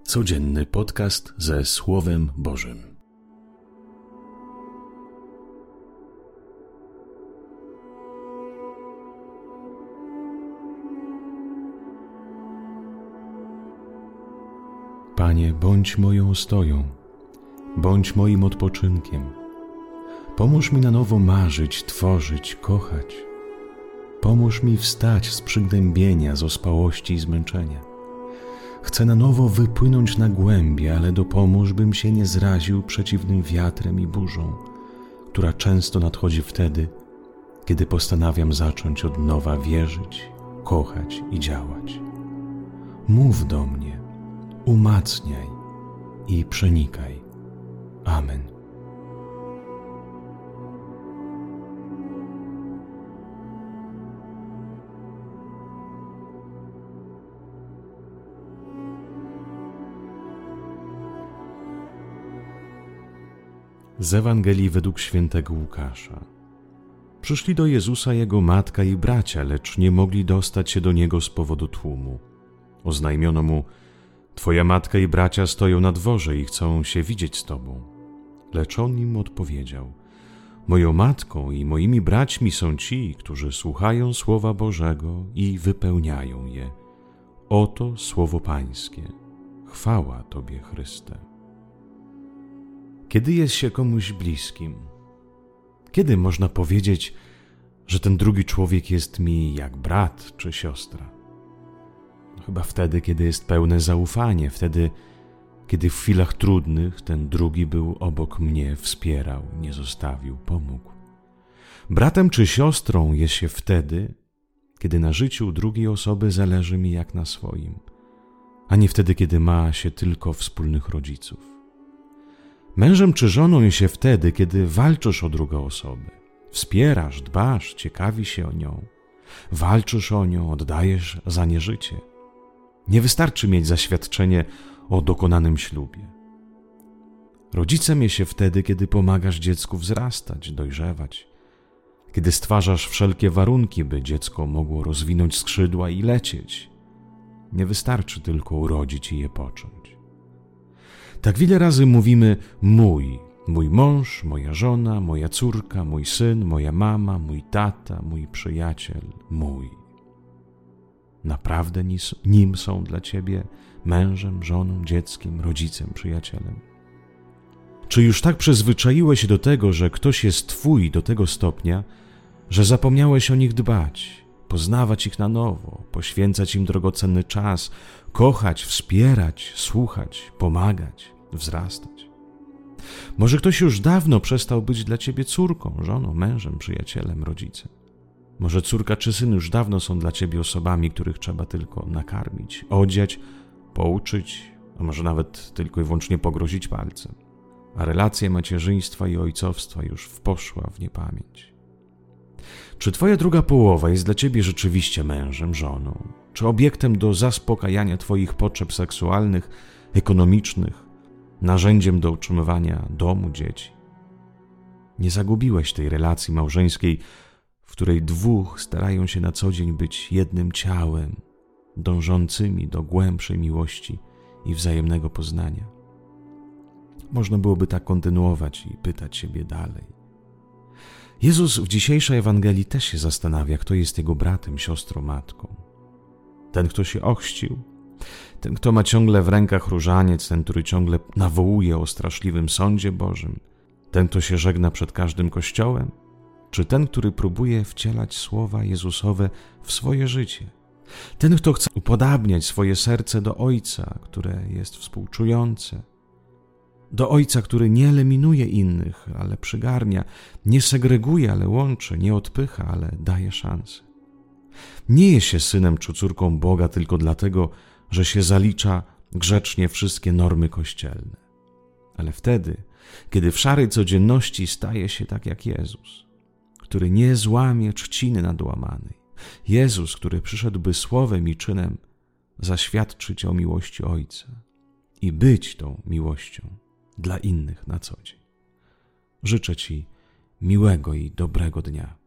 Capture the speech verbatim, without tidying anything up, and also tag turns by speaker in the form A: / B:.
A: Codzienny podcast ze Słowem Bożym. Panie, bądź moją ostoją, bądź moim odpoczynkiem. Pomóż mi na nowo marzyć, tworzyć, kochać. Pomóż mi wstać z przygnębienia, z ospałości i zmęczenia. Chcę na nowo wypłynąć na głębie, ale dopomóż, bym się nie zraził przeciwnym wiatrem i burzą, która często nadchodzi wtedy, kiedy postanawiam zacząć od nowa wierzyć, kochać i działać. Mów do mnie, umacniaj i przenikaj. Amen. Z Ewangelii według świętego Łukasza. Przyszli do Jezusa jego matka i bracia, lecz nie mogli dostać się do Niego z powodu tłumu. Oznajmiono mu: Twoja matka i bracia stoją na dworze i chcą się widzieć z Tobą. Lecz on im odpowiedział: Moją matką i moimi braćmi są ci, którzy słuchają Słowa Bożego i wypełniają je. Oto Słowo Pańskie. Chwała Tobie, Chryste. Kiedy jest się komuś bliskim? Kiedy można powiedzieć, że ten drugi człowiek jest mi jak brat czy siostra? Chyba wtedy, kiedy jest pełne zaufanie, wtedy, kiedy w chwilach trudnych ten drugi był obok mnie, wspierał, nie zostawił, pomógł. Bratem czy siostrą jest się wtedy, kiedy na życiu drugiej osoby zależy mi jak na swoim, a nie wtedy, kiedy ma się tylko wspólnych rodziców. Mężem czy żoną jest się wtedy, kiedy walczysz o drugą osobę. Wspierasz, dbasz, ciekawi się o nią. Walczysz o nią, oddajesz za nie życie. Nie wystarczy mieć zaświadczenie o dokonanym ślubie. Rodzicem jest się wtedy, kiedy pomagasz dziecku wzrastać, dojrzewać. Kiedy stwarzasz wszelkie warunki, by dziecko mogło rozwinąć skrzydła i lecieć. Nie wystarczy tylko urodzić i je począć. Tak wiele razy mówimy mój, mój mąż, moja żona, moja córka, mój syn, moja mama, mój tata, mój przyjaciel, mój. Naprawdę nim są dla ciebie mężem, żoną, dzieckiem, rodzicem, przyjacielem? Czy już tak przyzwyczaiłeś się do tego, że ktoś jest twój do tego stopnia, że zapomniałeś o nich dbać, poznawać ich na nowo, poświęcać im drogocenny czas, kochać, wspierać, słuchać, pomagać, wzrastać? Może ktoś już dawno przestał być dla ciebie córką, żoną, mężem, przyjacielem, rodzicem. Może córka czy syn już dawno są dla ciebie osobami, których trzeba tylko nakarmić, odziać, pouczyć, a może nawet tylko i wyłącznie pogrozić palcem. A relacje macierzyństwa i ojcowstwa już poszła w niepamięć. Czy twoja druga połowa jest dla ciebie rzeczywiście mężem, żoną? Czy obiektem do zaspokajania twoich potrzeb seksualnych, ekonomicznych, narzędziem do utrzymywania domu, dzieci? Nie zagubiłeś tej relacji małżeńskiej, w której dwóch starają się na co dzień być jednym ciałem, dążącymi do głębszej miłości i wzajemnego poznania. Można byłoby tak kontynuować i pytać siebie dalej. Jezus w dzisiejszej Ewangelii też się zastanawia, kto jest jego bratem, siostrą, matką. Ten, kto się ochrzcił, ten, kto ma ciągle w rękach różaniec, ten, który ciągle nawołuje o straszliwym sądzie Bożym, ten, kto się żegna przed każdym kościołem, czy ten, który próbuje wcielać słowa Jezusowe w swoje życie, ten, kto chce upodabniać swoje serce do Ojca, które jest współczujące, do Ojca, który nie eliminuje innych, ale przygarnia, nie segreguje, ale łączy, nie odpycha, ale daje szansę. Nie jest się synem czy córką Boga tylko dlatego, że się zalicza grzecznie wszystkie normy kościelne, ale wtedy, kiedy w szarej codzienności staje się tak jak Jezus, który nie złamie trzciny nadłamanej. Jezus, który przyszedł, by słowem i czynem zaświadczyć o miłości Ojca i być tą miłością dla innych na co dzień. Życzę Ci miłego i dobrego dnia.